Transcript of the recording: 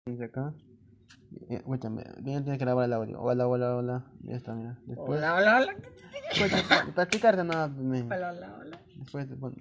Desde acá. Escúchame, bien tienes que grabar el audio. Hola, hola, hola. Ya está, mira. Después. Hola, hola, hola. Escucha, para explicarte nada. Hola, hola, hola. Después te